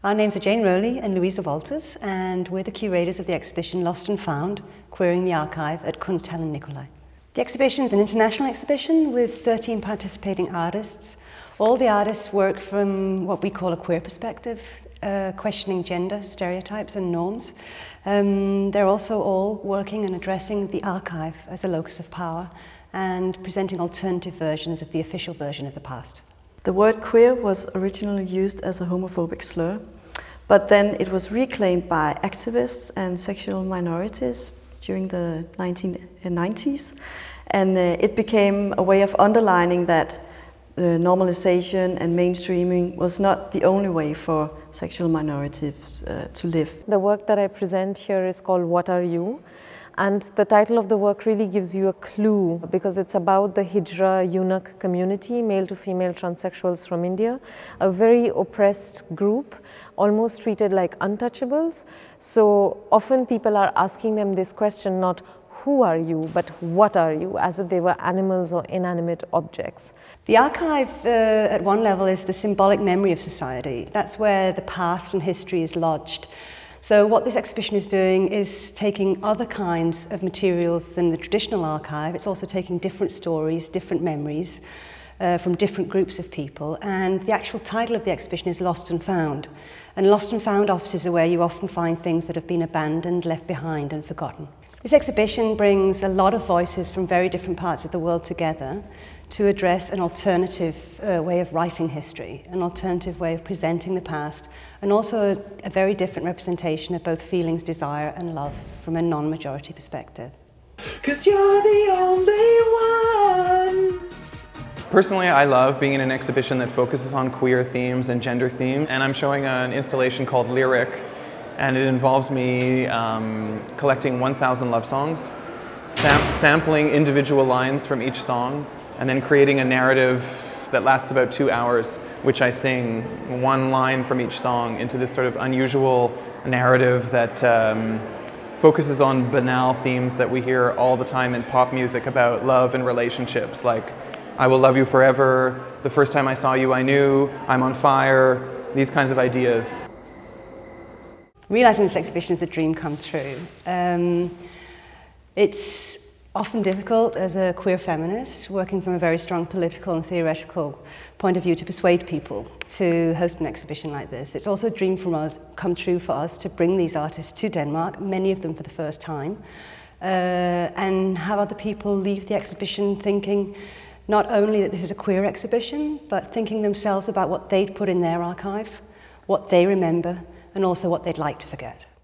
Our names are Jane Rowley and Louisa Walters, and we're the curators of the exhibition Lost and Found, Queering the Archive at Kunsthalle Nicolai. The exhibition is an international exhibition with 13 participating artists. All the artists work from what we call a queer perspective, questioning gender stereotypes and norms. They're also all working and addressing the archive as a locus of power and presenting alternative versions of the official version of the past. The word queer was originally used as a homophobic slur, but then it was reclaimed by activists and sexual minorities during the 1990s, and it became a way of underlining that normalization and mainstreaming was not the only way for sexual minorities to live. The work that I present here is called What Are You? And the title of the work really gives you a clue because it's about the Hijra eunuch community, male to female transsexuals from India, a very oppressed group, almost treated like untouchables. So often people are asking them this question, not who are you, but what are you, as if they were animals or inanimate objects. The archive, at one level, is the symbolic memory of society. That's where the past and history is lodged. So what this exhibition is doing is taking other kinds of materials than the traditional archive. It's also taking different stories, different memories from different groups of people. And the actual title of the exhibition is Lost and Found. And Lost and Found offices are where you often find things that have been abandoned, left behind and forgotten. This exhibition brings a lot of voices from very different parts of the world together to address an alternative way of writing history, an alternative way of presenting the past, and also a very different representation of both feelings, desire and love from a non-majority perspective. 'Cause you're the only one. Personally, I love being in an exhibition that focuses on queer themes and gender themes, and I'm showing an installation called Lyric, and it involves me collecting 1,000 love songs, sampling individual lines from each song, and then creating a narrative that lasts about 2 hours, which I sing one line from each song into this sort of unusual narrative that focuses on banal themes that we hear all the time in pop music about love and relationships, like I will love you forever, the first time I saw you I knew, I'm on fire, these kinds of ideas. Realising this exhibition is a dream come true. It's often difficult as a queer feminist, working from a very strong political and theoretical point of view, to persuade people to host an exhibition like this. It's also a dream come true for us to bring these artists to Denmark, many of them for the first time, and have other people leave the exhibition thinking not only that this is a queer exhibition, but thinking themselves about what they'd put in their archive, what they remember, and also what they'd like to forget.